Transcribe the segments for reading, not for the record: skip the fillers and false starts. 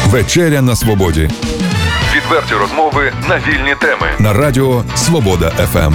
Вечеря на свободі. Відверті розмови на вільні теми. На радіо Свобода ФМ.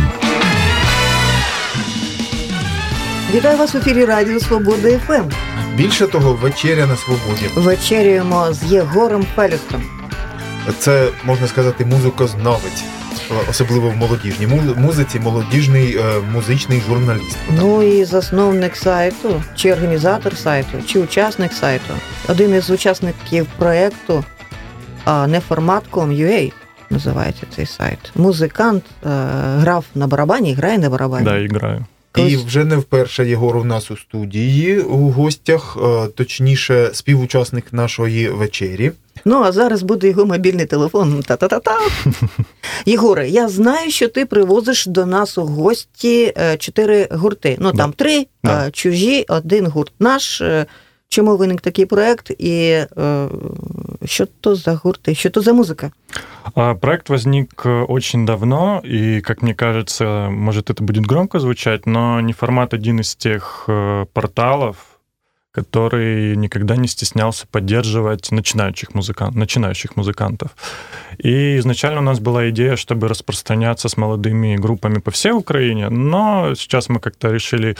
Вітаю вас в ефірі Радіо Свобода ФМ. Більше того, вечеря на свободі. Вечеряємо з Єгором Фелюстом. Це, можна сказати, музикознавець. Особливо в молодіжній музиці, молодіжний музичний журналіст. Ну і засновник сайту, чи організатор сайту, чи учасник сайту. Один із учасників проєкту Неформат.com.ua називається цей сайт. Музикант, грав на барабані, грає на барабані. Да, граю. І вже не вперше Єгор у нас у студії, у гостях, точніше, співучасник нашої вечері. Ну, а зараз буде його мобільний телефон. Та-та-та-та. Єгоре, я знаю, що ти привозиш до нас у гості 4 гурти. Ну, там 3 чужі, 1 гурт наш. Чому виник такий проект и что то за гурты, что то за музыка? Проект возник очень давно, и, как мне кажется, может, это будет громко звучать, но Неформат один из тех порталов, который никогда не стеснялся поддерживать начинающих музыкантов. И изначально у нас была идея, чтобы распространяться с молодыми группами по всей Украине, но сейчас мы как-то решили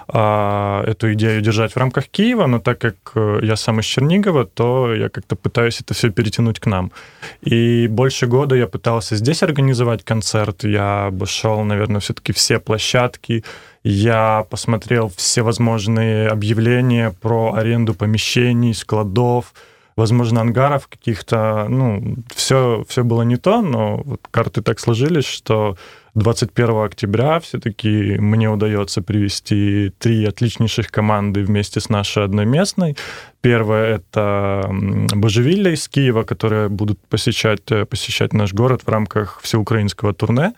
эту идею держать в рамках Киева, но так как я сам из Чернигова, то я как-то пытаюсь это все перетянуть к нам. И больше года я пытался здесь организовать концерт, я обошел, наверное, все-таки все площадки, я посмотрел всевозможные объявления про аренду помещений, складов, возможно, ангаров каких-то. Ну, все было не то, но вот карты так сложились, что 21 октября все-таки мне удается привести 3 отличнейших команды вместе с нашей одной местной. Первая — это Божевилля из Киева, которые будут посещать наш город в рамках всеукраинского турне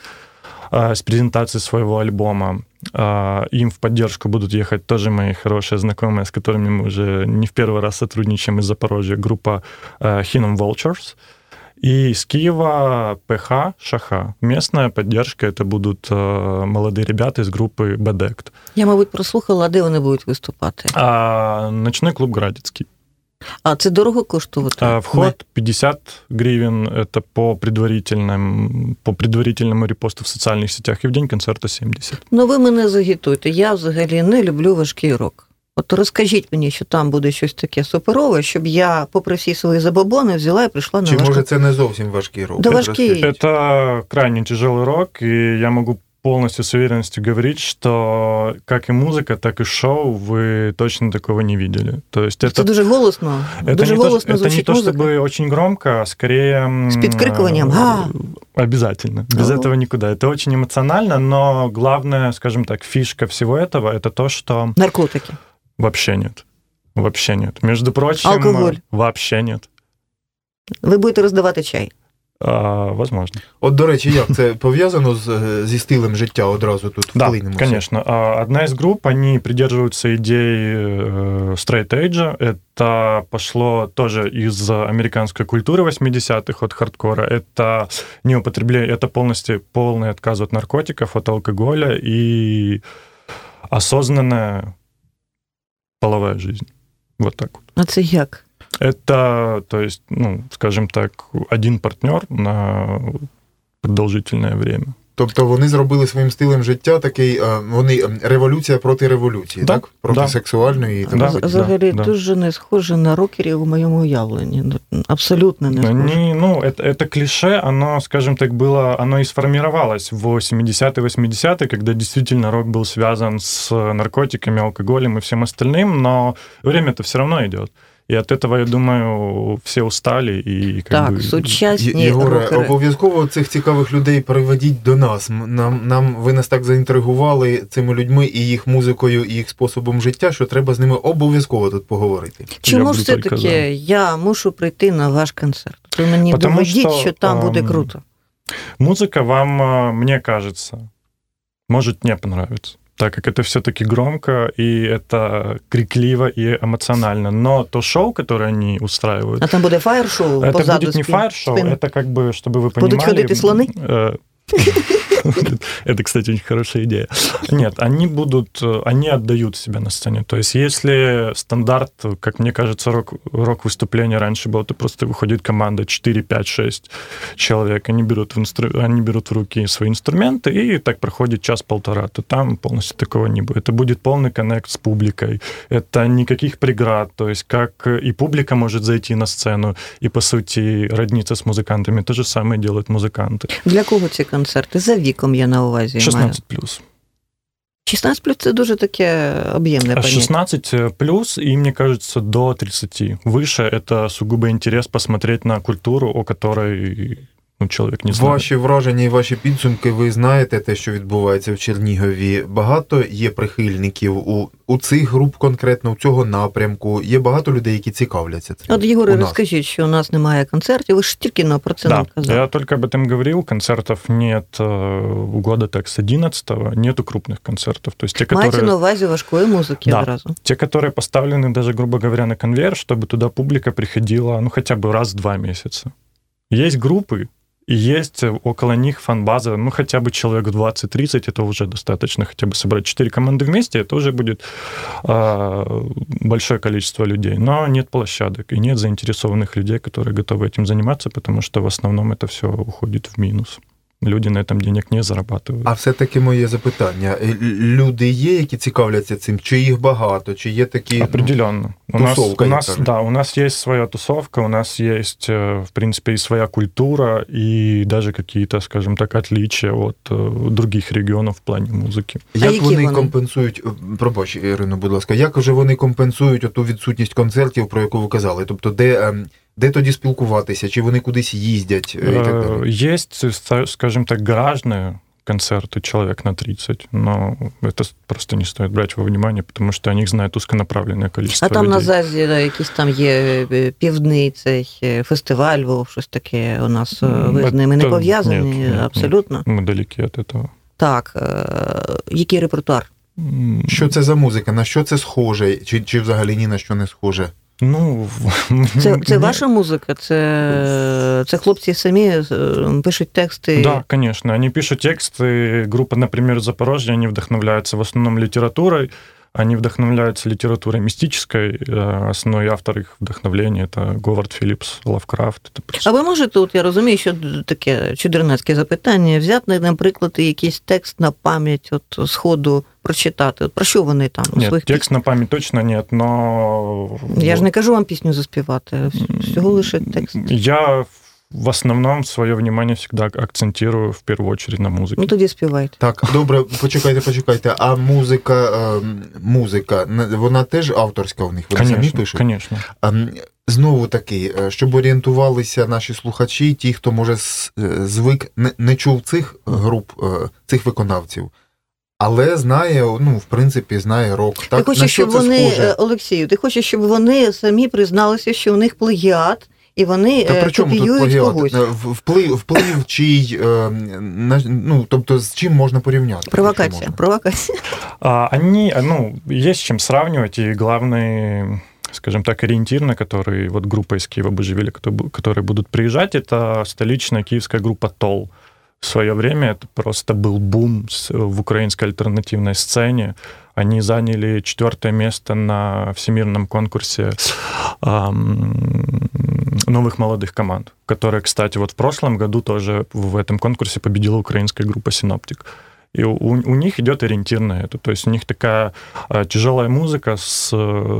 с презентацией своего альбома. Им в поддержку будут ехать тоже мои хорошие знакомые, с которыми мы уже не в первый раз сотрудничаем из Запорожья, группа Hinnom Vultures. И из Киева ПХ Шаха. Местная поддержка — это будут молодые ребята из группы Бедект. Я, мабуть, прослухала, де вони будуть виступати? Ночной клуб Градецкий. А це дорого коштувати? Вход 50 гривен, это по предварительному репосту в социальных сетях, и в день концерта 70. Ну, ви мене загітуйте, я взагалі не люблю важкий рок. От розкажіть мені, що там буде щось таке суперове, щоб я, попри всі свої забобони, взяла і прийшла на важкий. Чи може це не зовсім важкий рок? Да, важкий. Это крайне тяжелый рок, и я могу полностью с уверенностью говорить, что как и музыка, так и шоу вы точно такого не видели. То есть это дуже голосно. Дуже голосно звучить музыка. Это не то, чтобы очень громко, а скорее... С підкрикуванням. Обязательно. Без этого никуда. Это очень эмоционально, но главное, скажем так, фишка всего этого, это то, что... Наркотики. Вообще нет. Вообще нет. Между прочим... Алкоголь. Вообще нет. Ви будете роздавати чай? Возможно. От, до речі, як це пов'язано зі стилем життя одразу тут вклинемося? Да, конечно. Одна из групп, они придерживаются идей стрейт-эйджа. Это пошло тоже из американской культуры 80-х, от хардкора. Это неупотребление, это полный отказ от наркотиков, от алкоголя и осознанная половая жизнь. Вот так вот. А це як? Это, то есть, ну, скажем так, один партнер на продовжительне время. Тобто вони зробили своїм стилем життя такий, вони революція проти революції, так? Проти сексуальної. Взагалі дуже не схоже на рокерів у моєму уявленні. Абсолютно не схоже. Ну, это клише, оно, скажем так, оно и сформировалось в 70-е, 80-е, когда действительно рок был связан с наркотиками, алкоголем и всем остальным, но время-то все равно идет. І від цього, я думаю, всі устали. І, так, сучасні Єгоре, рокери. Обов'язково цих цікавих людей приведіть до нас. Ви нас так заінтригували цими людьми і їх музикою, і їх способом життя, що треба з ними обов'язково тут поговорити. Чому ж все-таки я мушу прийти на ваш концерт? Ви мені доведіть, що там буде круто. Музика вам, мне кажется, может не понравиться, так как это все-таки громко, и это крикливо и эмоционально. Но то шоу, которое они устраивают... А там будет фаер-шоу? Это будет не фаер-шоу, это как бы, чтобы вы понимали... Будут ходить слоны? Это, кстати, очень хорошая идея. Нет, они отдают себя на сцене. То есть если стандарт, как мне кажется, рок-выступление раньше было, то просто выходит команда 4, 5, 6 человек, они берут в руки свои инструменты, и так проходит час-полтора, то там полностью такого не будет. Это будет полный коннект с публикой. Это никаких преград. То есть как и публика может зайти на сцену и, по сути, родниться с музыкантами. То же самое делают музыканты. Для кого ці концерти? За віком я на увазі 16+. 16+, це дуже таке об'ємне поняття. 16+, и, мне кажется, до 30. Выше это сугубо интерес посмотреть на культуру, о которой чоловік не знає. Ваші враження і ваші підсумки, ви знаєте те, що відбувається в Чернігові. Багато є прихильників у цих груп конкретно, у цього напрямку. Є багато людей, які цікавляться цим. От, Єгоре, розкажіть, що у нас немає концертів. Ви ж тільки про це нам казали. Я только об этом говорил. Концертов нет у года так с 11-го. Нету крупных концертов. То есть те, Маете на увазі важкої музики одразу? Те, которые поставлены даже, грубо говоря, на конвейер, чтобы туда публика приходила, хотя бы раз в 2 месяца. Есть группы, и есть около них фан-база, хотя бы человек 20-30, это уже достаточно, хотя бы собрать 4 команды вместе, это уже будет большое количество людей. Но нет площадок и нет заинтересованных людей, которые готовы этим заниматься, потому что в основном это все уходит в минус. Люди на этом денег не зарабатывают. А все-таки моє запитання. Люди є, які цікавляться цим? Чи їх багато? Чи є такі определенно. Тусовка? У нас есть своя тусовка, у нас есть, в принципе, и своя культура, и даже какие-то, скажем так, отличия от других регионов в плане музики. Як вони компенсують, пробач, Ірино, будь ласка, як вже вони компенсують оту відсутність концертів, про яку ви казали? Тобто, де тоді спілкуватися? Чи вони кудись їздять? І так далі? Есть, скажем так, гаражные концерты, человек на 30, но это просто не стоит брать во внимание, потому что о них знает узконаправленное количество людей. А там на ЗАЗі якісь там є півдний цей фестиваль, щось таке у нас, ви з ними не пов'язані? Нет, абсолютно? Мы далеки от этого. Так, який репертуар? Що це за музика? На що це схоже? Чи взагалі ні на що не схоже? Це ваша музика? Це хлопці самі пишуть тексти? Да, конечно. Они пишут тексты. Группа, например, Запорожье, они вдохновляются в основном литературой. Они вдохновляются литературой мистической. Основной автор их вдохновления – это Говард Філіпс, Лавкрафт. А ви можете, я розумію, що таке чудернацьке запитання, взяти, наприклад, якийсь текст на пам'ять з ходу прочитати? Про що вони там? Нет, текст на пам'ять точно нет, но... Я ж не кажу вам пісню заспівати, всього лише текст. Я в основном свое внимание всегда акцентирую в первую очередь на музыке. Тоді співайте. Так, добре, почекайте. А музика, вона теж авторська у них? Вони самі пишуть? Конечно. Знову таки, щоб орієнтувалися наші слухачі, ті, хто, може, звик, не чув цих груп, цих виконавців, але знає, в принципі, знає рок. Так, ти хочеш, щоб вони, Олексію, щоб вони самі призналися, що у них плагіат, і вони копіюють когось. Вплив чий, тобто з чим можна порівняти? Провокація. Есть с чем сравнивать, и главный, скажем так, ориентир, на который группа из Киева Божевиля, которые будут приезжать, это столичная киевская группа ТОЛ. В свое время это просто был бум в украинской альтернативной сцене. Они заняли 4-е место на всемирном конкурсе новых молодых команд, которая, кстати, в прошлом году тоже в этом конкурсе победила украинская группа «Синоптик». И у них идет ориентир на это. То есть у них такая тяжелая музыка с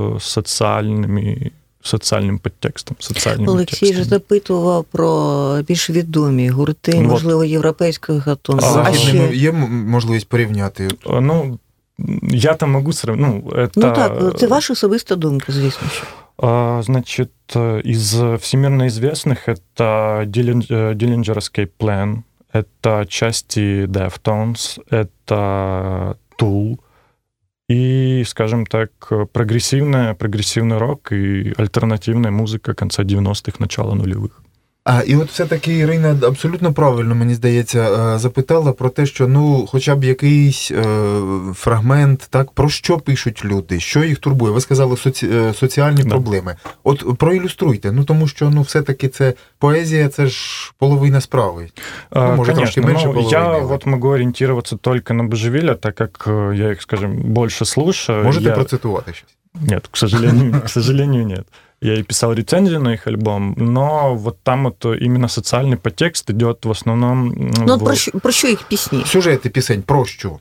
соціальним підтекстом, Олексій ж запитував про більш відомі гурти, можливо, європейського гатунку. З західними є можливість порівняти? Я там можу сравнити. Так, це ваша особиста думка, звісно. Значит, из всемирно известных это Dillinger Escape Plan, это части Deftones, это Tool, и, скажем так, прогрессивный рок и альтернативная музыка конца 90-х, начала нулевых. І от все-таки Ірина абсолютно правильно, мені здається, запитала про те, що хоча б якийсь фрагмент, так, про що пишуть люди, що їх турбує. Ви сказали соціальні проблеми. От проілюструйте, тому що все-таки це поезія, це ж половина справи. Може, трошки менше половини. Я вот могу ориентироваться только на Божевиля, так как я их, скажем, больше слушаю. Можете процитувати щось? Нет, к сожалению, нет. Я и писал рецензию на их альбом, но вот там вот именно социальный подтекст идет в основном... Про що їх пісні? Сюжети пісень, про що?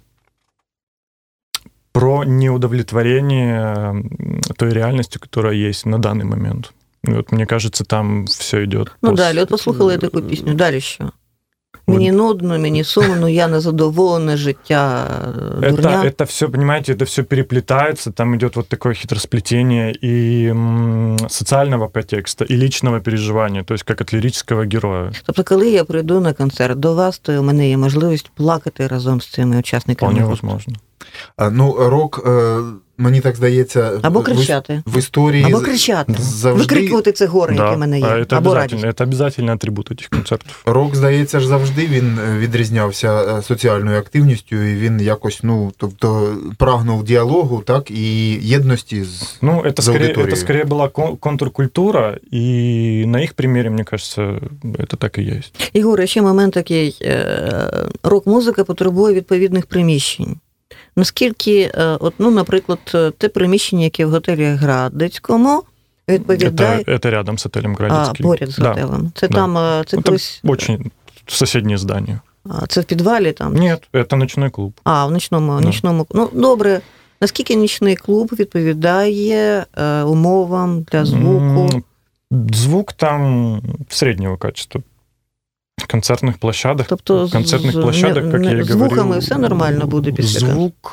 Про неудовлетворение той реальностью, которая есть на данный момент. И вот мне кажется, там все идет. Далі, от послухали таку пісню, далі що? Мені нудно, мені сумно, я незадоволене життя, дурня. Это все, понимаете, это все переплетается, там идет вот такое хитросплетение и социального подтекста, и личного переживания, то есть как от лирического героя. Тобто, коли я прийду на концерт до вас, то у мене є можливість плакати разом з цими учасниками. Вполне возможно. Рок, мені так здається, або кричати. В історії або кричати. Завжди... Викрикувати це горе, яке в мене є. Або радість. Це обов'язковий атрибут цих концертів. Рок, здається, ж завжди він відрізнявся соціальною активністю, і він якось, прагнув діалогу, так, і єдності з аудиторією. Це скоріше була контркультура, і на їх примірі, мені кажеться, це так і є. Ігоре, ще момент такий. Рок-музика потребує відповідних приміщень. Наскільки, наприклад, те приміщення, яке в готелі Градецькому, відповідає... Это рядом с отелем Градецький. Поряд з готелем. Це там, це колись... Очень соседнее здание. Це в підвалі там? Нет, это ночной клуб. В ночному. Добре. Наскільки нічний клуб відповідає умовам для звуку? Звук там среднего качества. Концертних площадок, тобто, площадок, як я і говорив, звуками все нормально буде після звук,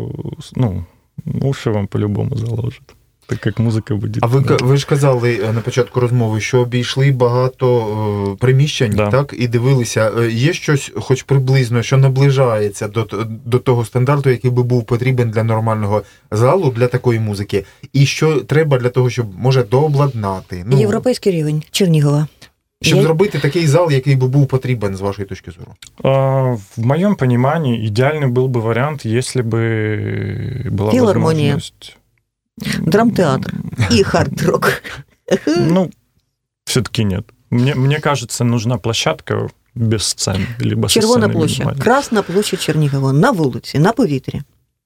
уші вам по-любому заложить, так як музика буде. А ви ж казали на початку розмови, що обійшли багато приміщень, так, і дивилися. Є щось, хоч приблизно, що наближається до того стандарту, який би був потрібен для нормального залу, для такої музики? І що треба для того, щоб, може, дообладнати? Європейський рівень Чернігова. Щоб зробити такий зал, який би був потрібен, з вашої точки зору? В моем понимании идеальный был бы вариант, если бы была филармония, возможность... драмтеатр и хард-рок. Все-таки нет. Мне кажется, нужна площадка без сцен. Либо Червона площадь, Красна площадь Чернігова, на вулиці, на повітрі.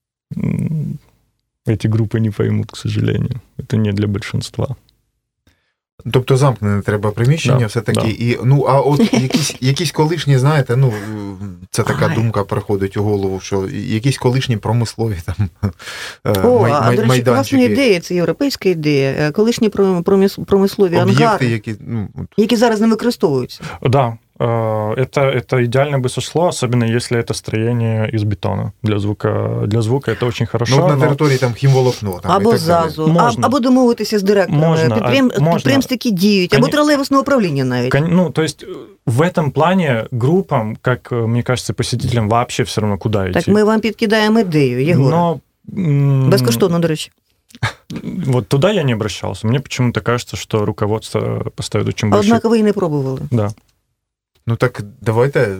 Эти группы не поймут, к сожалению. Это не для большинства. Тобто замкнене треба приміщення все-таки. І, а от якісь колишні, знаєте, це така думка приходить у голову, що якісь колишні промислові там майданчики. До речі, класна ідея, це європейська ідея. Колишні промислові ангари, які зараз не використовуються. Да. Это идеально бы сошло, особенно если это строение из бетона. Для звука это очень хорошо. На території там хімволокно. Або ЗАЗу, або домовитися з директорами. Підприємств такі діють, або тролейбусне управління навіть. То есть в этом плане группам, как мне кажется, посетителям вообще все равно куда идти. Так ми вам підкидаємо ідею, Єгор. Безкоштовно, до речі. Вот туда я не обращался. Мне почему-то кажется, что руководство поставит очень большой... Однако вы и не пробовали. Да. Так давайте.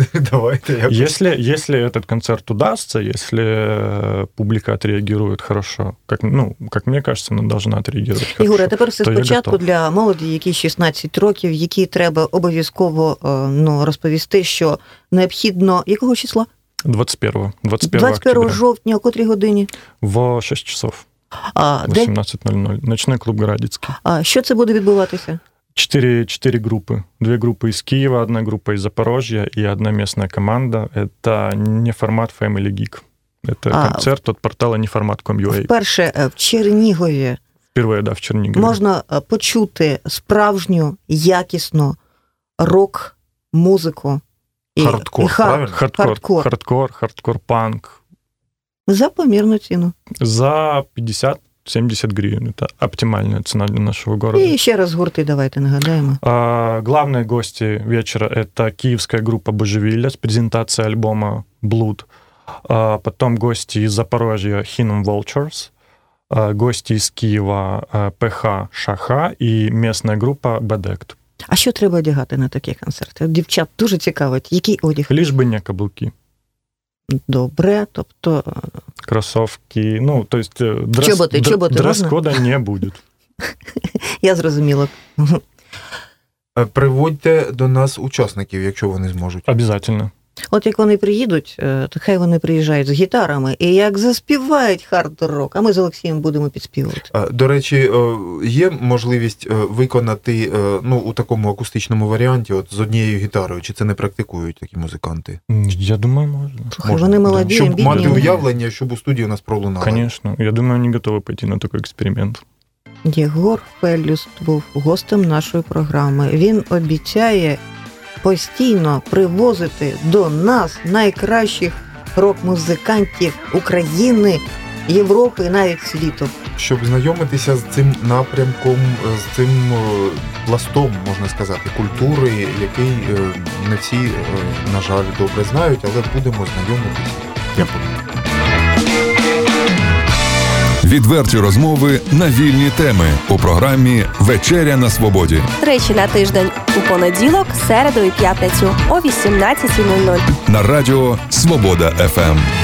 Если этот концерт удастся, если публика отреагирует хорошо, как мне кажется, она должна отреагировать хорошо. Ігор, а тепер все спочатку для молоді, якій 16 років, які треба обов'язково розповісти, що необхідно... Якого числа? 21 жовтня, о котрій годині? В 6 часов. 18:00. Ночной клуб Градецький. Що це буде відбуватися? 4 группы. 2 группы из Киева, 1 группа из Запорожья и 1 местная команда. Это не формат Family Geek. Это концерт от портала неформат.com.ua. Вперше в Чернігові. Впервые, в Чернігові. Можна почути справжню, якісну рок-музику. Хардкор-панк. За помірну ціну. За 50-70 гривен. Это оптимальная цена для нашего города. И еще раз гурты давайте нагадаем. Главные гости вечера – это киевская группа Божевиля с презентацией альбома «Blood». Потом гости из Запорожья Hinnom Vultures, гости из Киева ПХ Шаха и местная группа Bedect. А що треба одягати на такі концерти? Дівчат дуже цікавить, який одяг? Лишь бы не каблуки. Добре, тобто... Кроссовки, ну, то есть чоботи дрес-кода не будет. Я зрозуміла. Приводьте до нас учасників, якщо вони зможуть. Обязательно. От як вони приїдуть, то хай вони приїжджають з гітарами, і як заспівають хард-рок, а ми з Олексієм будемо підспівувати. До речі, є можливість виконати у такому акустичному варіанті от з однією гітарою, чи це не практикують такі музиканти? Я думаю, можна. Слухай, вони молоді, щоб бідні. мати уявлення, щоб у студії у нас пролунало. Конечно. Я думаю, они готовы пойти на такой експеримент. Єгор Феллюст був гостем нашої програми. Він обіцяє постійно привозити до нас найкращих рок-музикантів України, Європи і навіть світу. Щоб знайомитися з цим напрямком, з цим пластом, можна сказати, культури, який не всі, на жаль, добре знають, але будемо знайомитися. Відверті розмови на вільні теми у програмі «Вечеря на свободі». Тричі на тиждень у понеділок, середу і п'ятницю о 18:00. На радіо «Свобода ФМ».